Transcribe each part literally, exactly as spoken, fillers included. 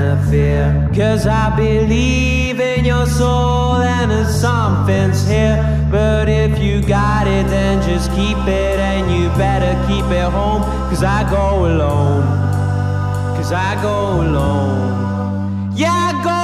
of fear. Cause I believe in your soul and that something's here. But if you got it, then just keep it, and you better keep it home. Cause I go alone, cause I go alone. Yeah, I go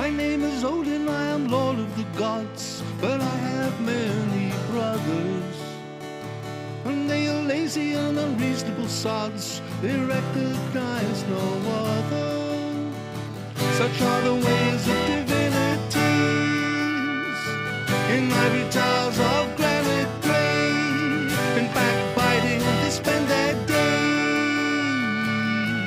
My name is Odin, I am Lord of the gods, but I have many brothers. And they are lazy and unreasonable sods, they recognize no other. Such are the ways of divinities, in ivory towers of granite grey, in backbiting they spend their days.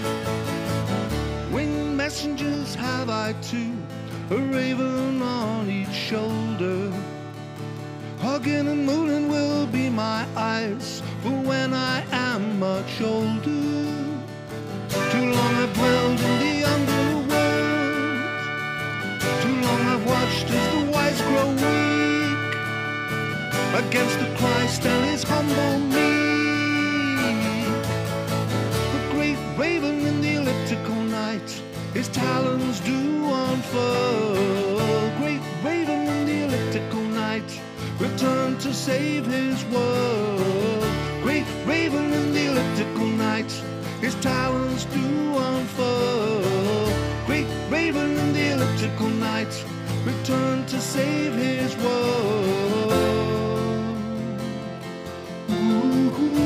Winged messengers have I too, a raven on each shoulder. Hugging and mooning will be my eyes for when I am much older. Too long I've dwelled in the underworld, too long I've watched as the wise grow weak against the Christ and his humble meek. The great raven in the elliptical night, his talons do unfurl. Great raven in the elliptical night, return to save his world. Great raven in the elliptical night, his talons do unfurl. Great raven in the elliptical night, return to save his world. Ooh, ooh,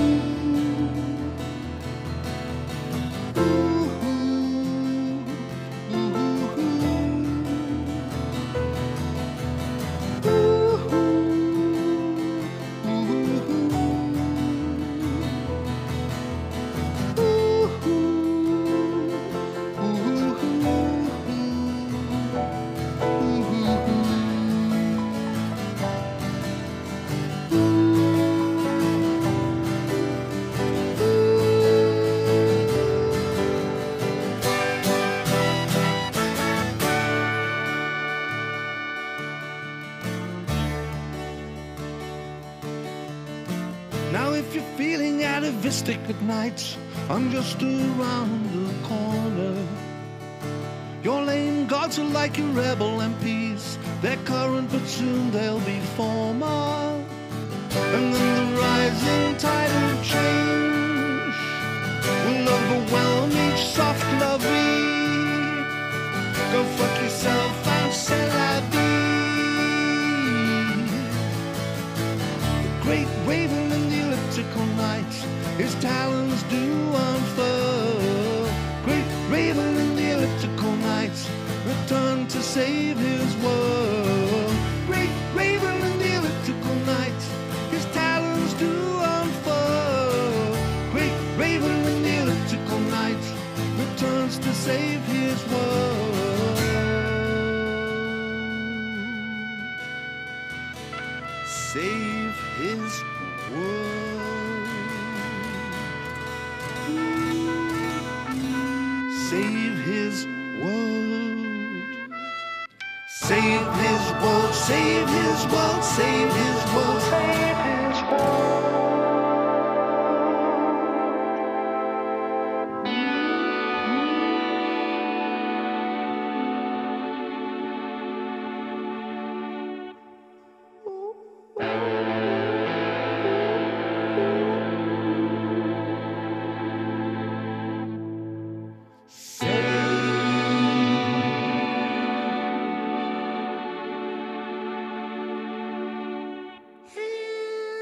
Now if you're feeling atavistic at night, I'm just around the corner. Your lame gods are like your rebel M Ps, they're current but soon they'll be former. And then the rising tide of change will overwhelm each soft lovey. Go fuck yourself and c'est la vie. The great raven in the elliptical night, his talons do unfurl. Great raven in the elliptical night, return to save his world. Great raven in the elliptical night, his talons do unfurl. Great raven in the elliptical night, returns to save his world. Save his world. Save his world. Save his world, save his world, save his world, save his world. His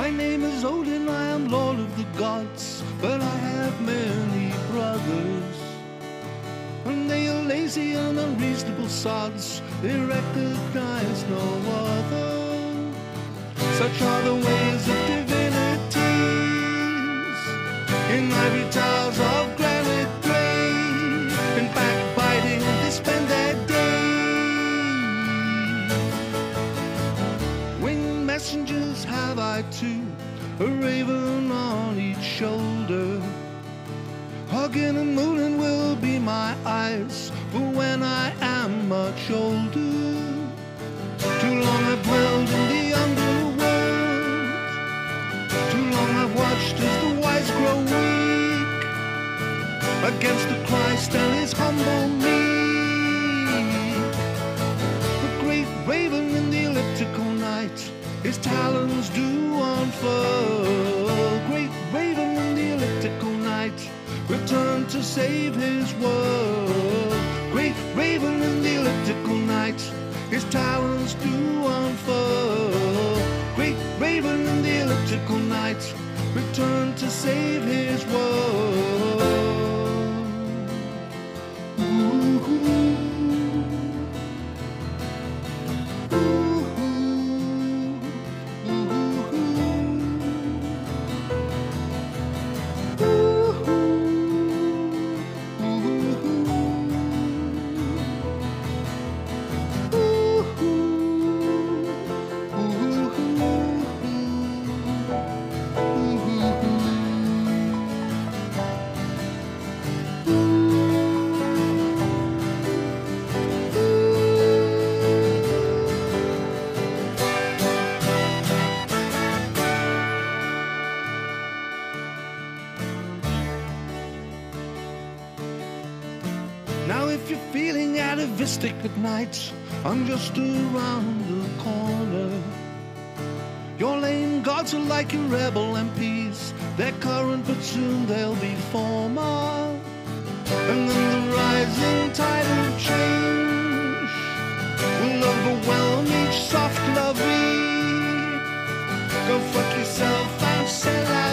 My name is Odin, I am Lord of the gods, but I have many brothers. And they are lazy and unreasonable sods, they recognize no other. Such are the ways of divinities, in ivory towers of granite grey, in backbiting they spend their days. Winged messengers have I too, a raven on each shoulder. Hugging and mooning will be my eyes for when I am much older. Too long I've dwelled in the underworld, too long I've watched as the wise grow weak against the Christ and his humble meek. The great raven in the elliptical night, his talons do unfurl. Great raven in the elliptical night, return to save his world. Great raven in the elliptical night, his talons do unfurl. Great raven in the elliptical night, return to save his world. Now if you're feeling atavistic at night, I'm just around the corner. Your lame gods are like your rebel M Ps, they're current but soon they'll be former. And then the rising tide of change will overwhelm each soft lovey. Go fuck yourself and c'est la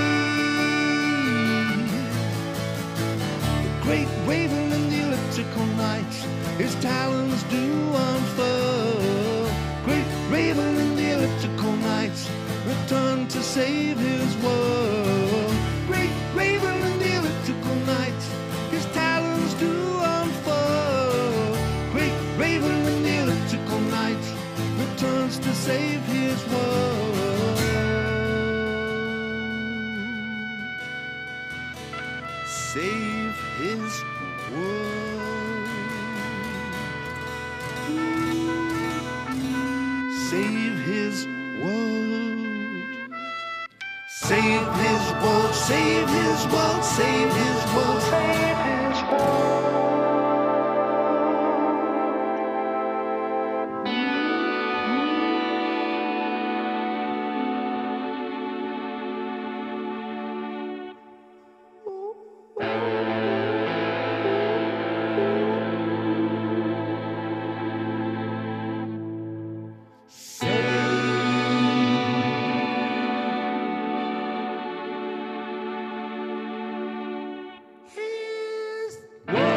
vie. The great raven in the elliptical night, his talons do unfurl. Great raven in the elliptical night, return to save his world. Great raven in the elliptical night, his talons do unfurl. Great raven in the elliptical night, returns to save his world. Save his world. Save his world. Save his world. Save his world. Save his world. Save his world. Whoa!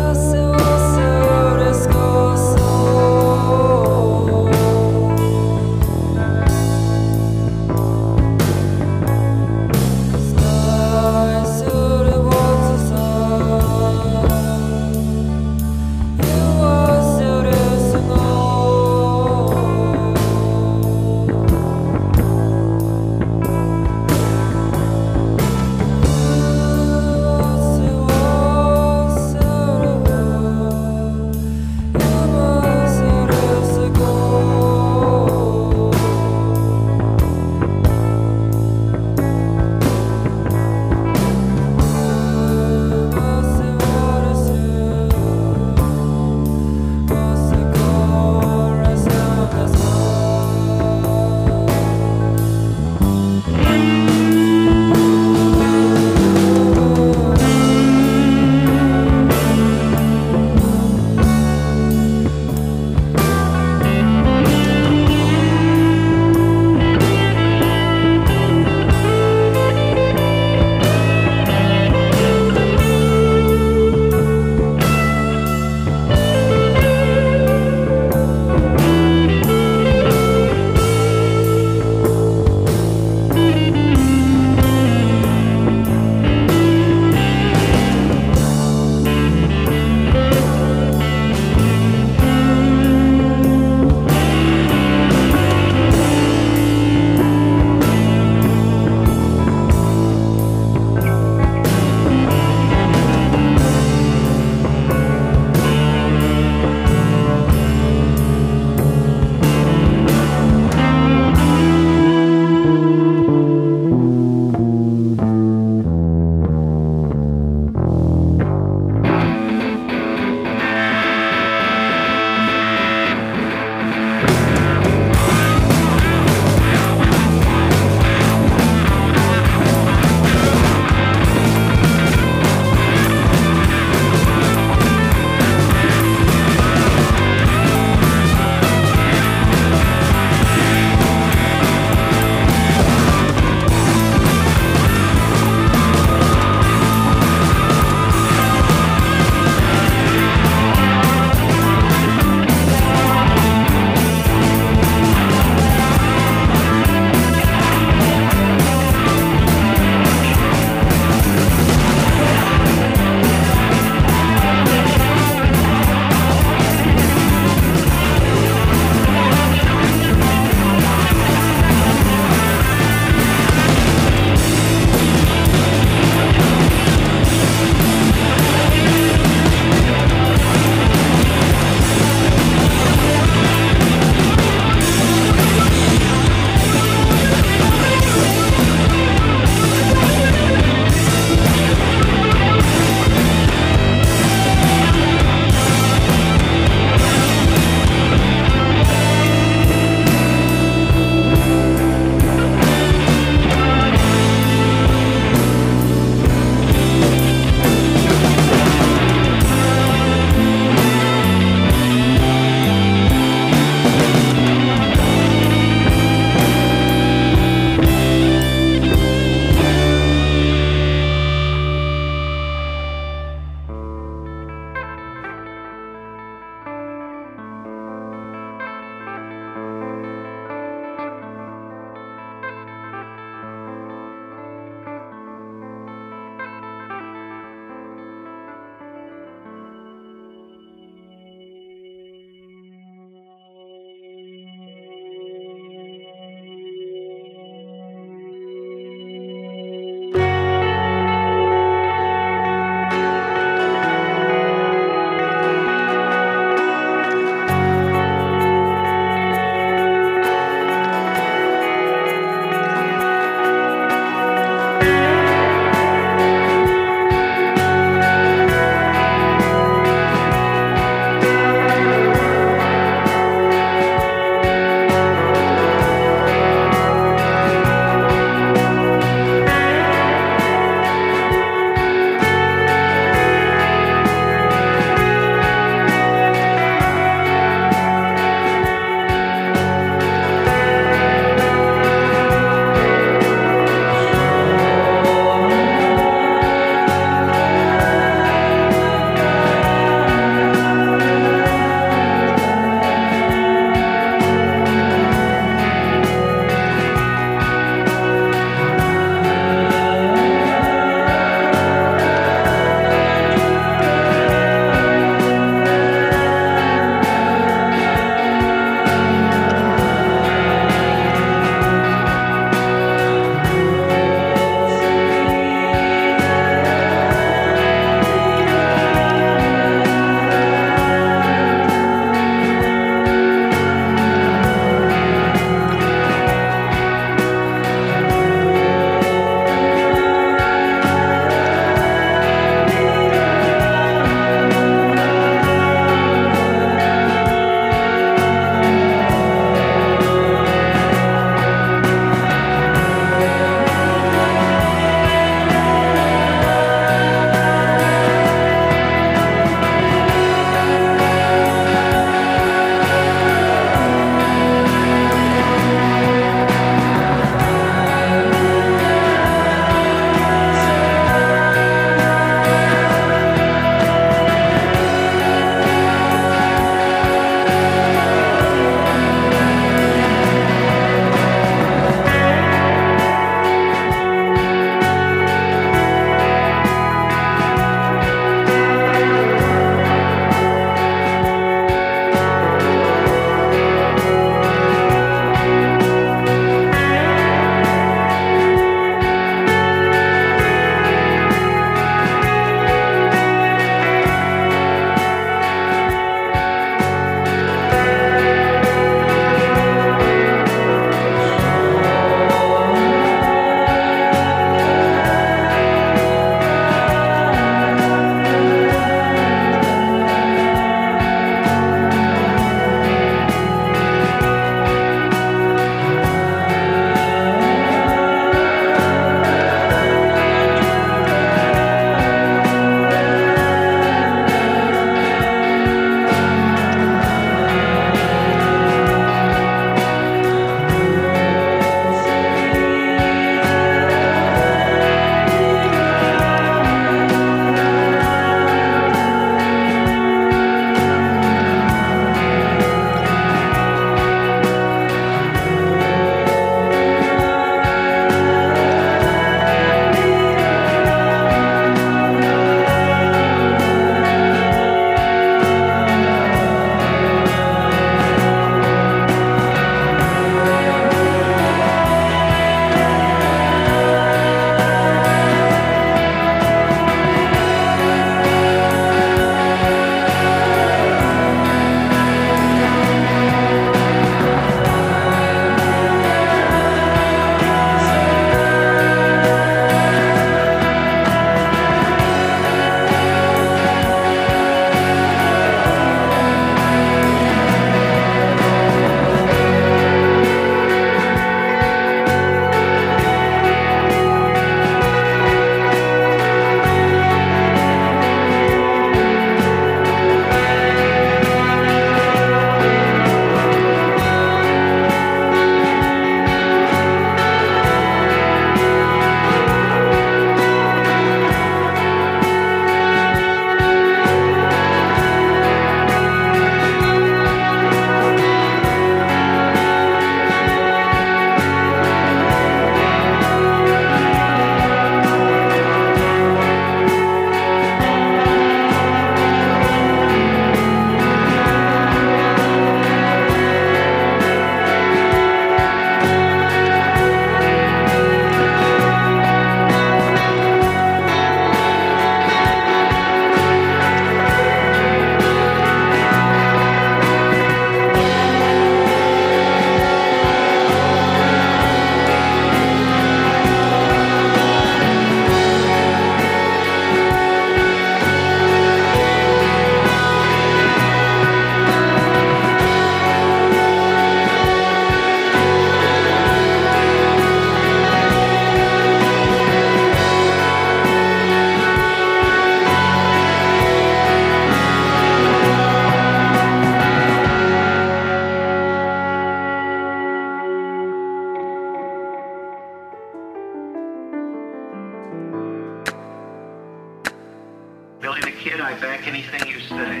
I back anything you say.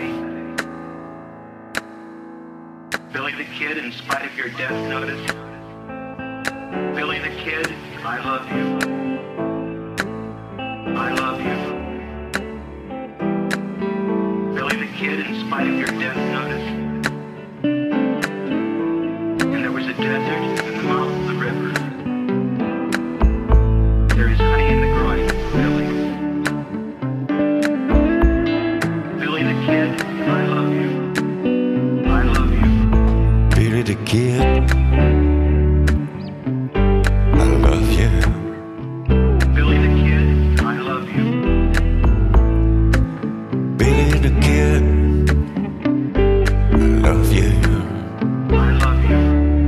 Billy the Kid, in spite of your death notice. Billy the Kid, I love you. I love you. Billy the Kid, in spite of your death notice. And there was a desert in the mouth of the river. There is honey in the groin, Billy. Billy the Kid, I love you. I love you. Billy the Kid, I love you. Billy the Kid, I love you. Billy the Kid, I love you. I love you.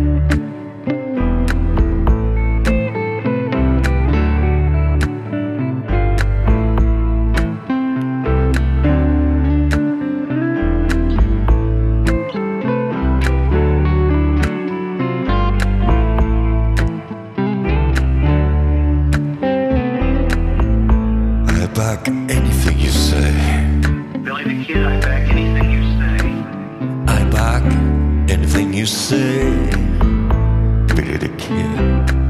I back anything you say. Billy the Kid, I back anything you say. I back anything you say. Billy the Kid.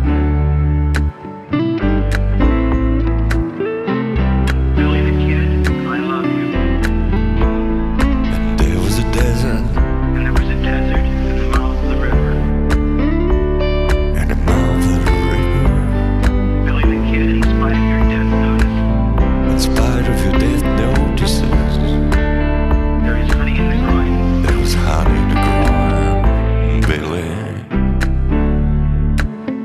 Billy the Kid, I love you. And there was a desert, And there was a desert in the mouth of the river. and the mouth of the river. Billy the Kid, in spite of your death notice. In spite of your death notices, There is honey in the groin. there was honey in the ground. Billy,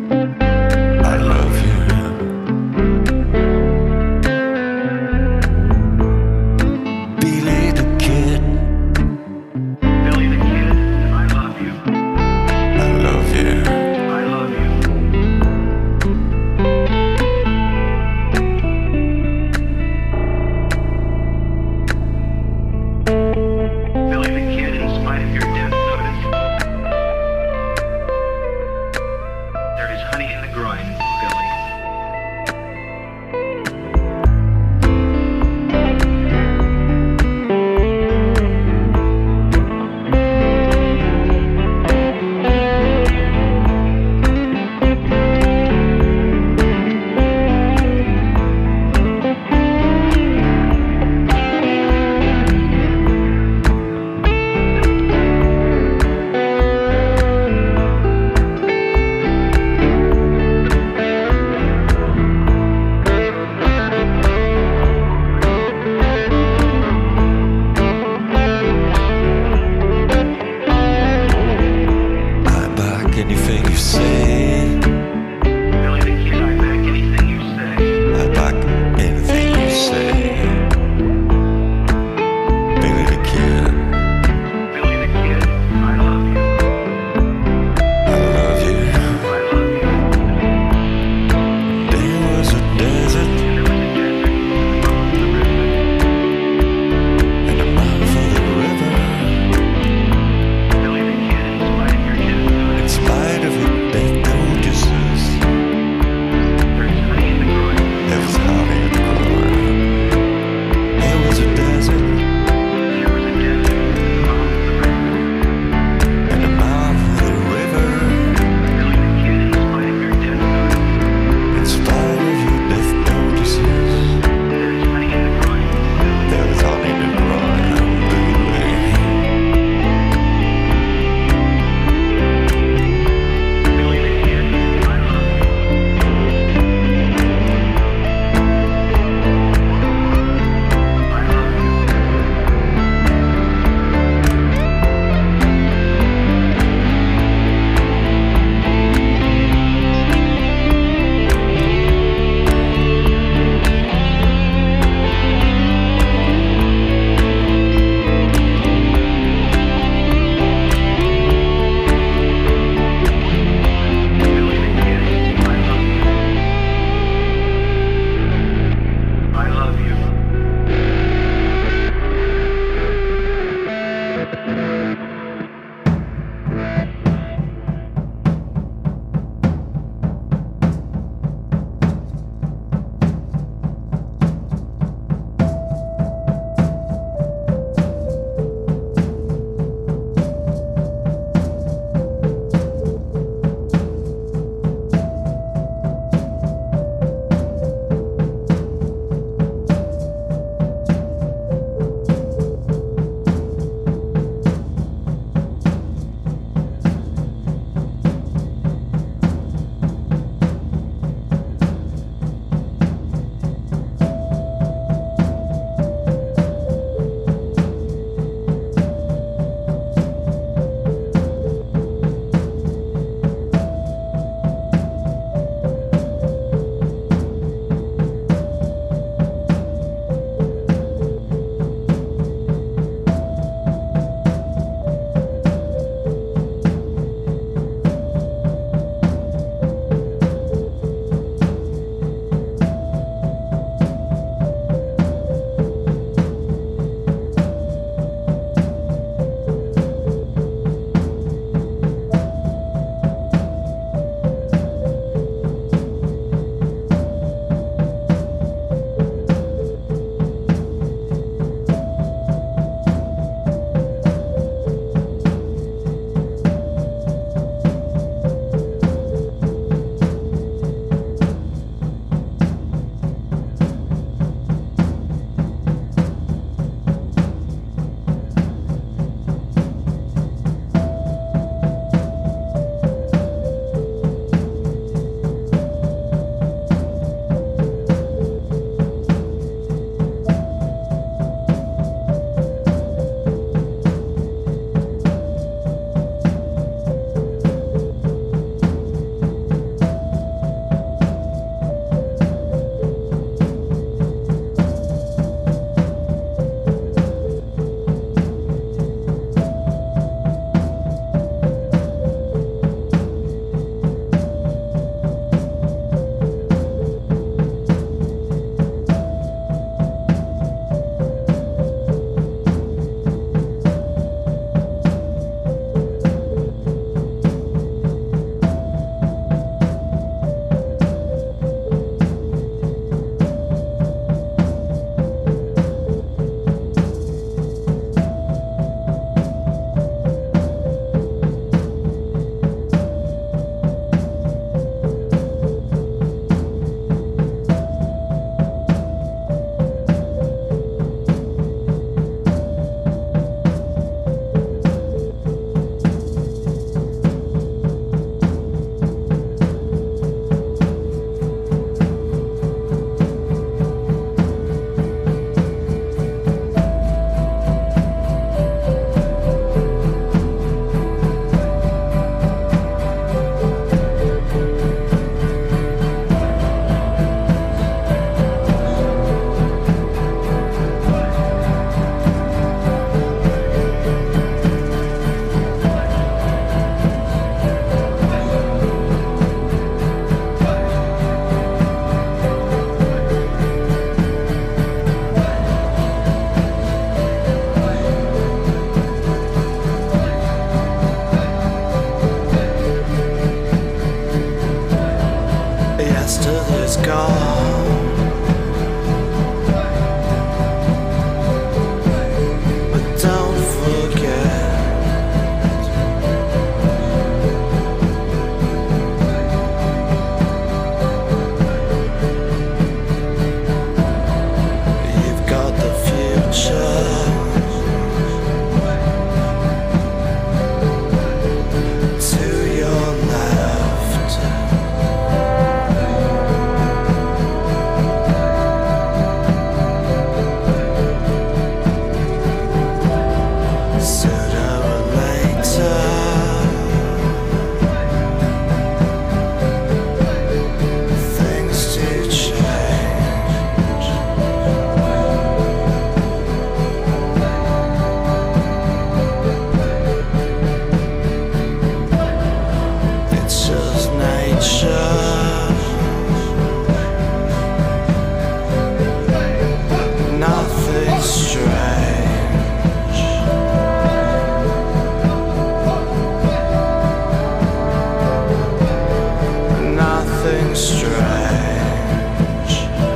is gone. But don't forget, you've got the future to your left. Sooner or later, things do change. It's just nature. Nothing strange. Nothing strange.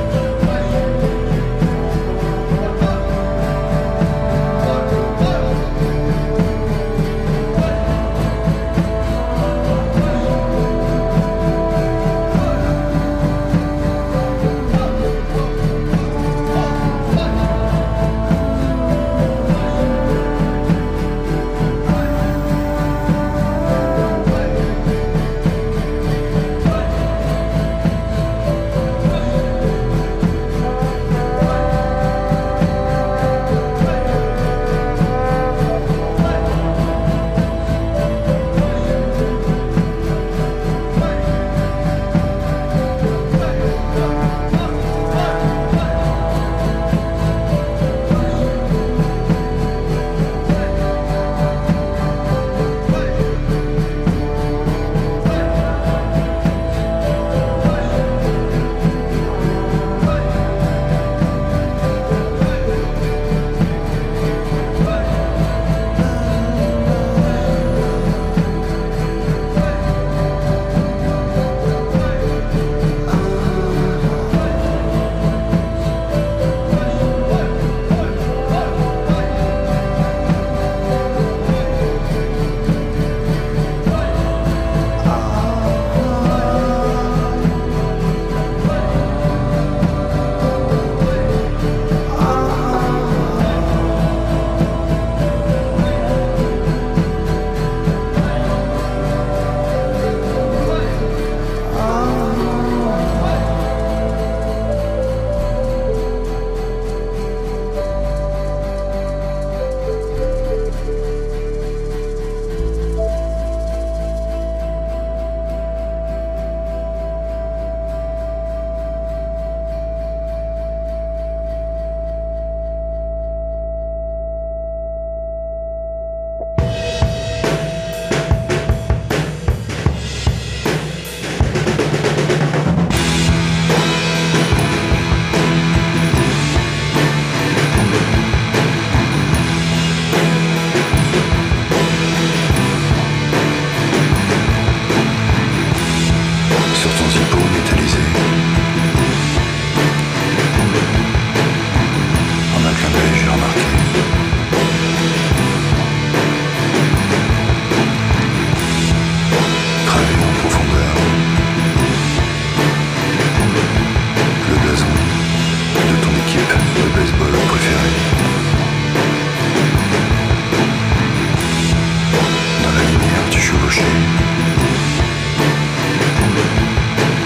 Sur ton zippo métallisé, en un clin d'œil j'ai remarqué gravé en profondeur le blason de ton équipe de baseball préférée. Dans la lumière tu chevauchais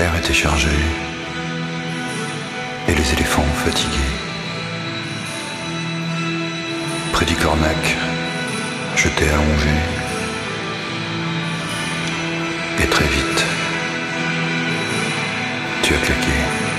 l'air était chargé, et les éléphants fatigués. Près du cornac, je t'ai allongé, et très vite, tu as claqué.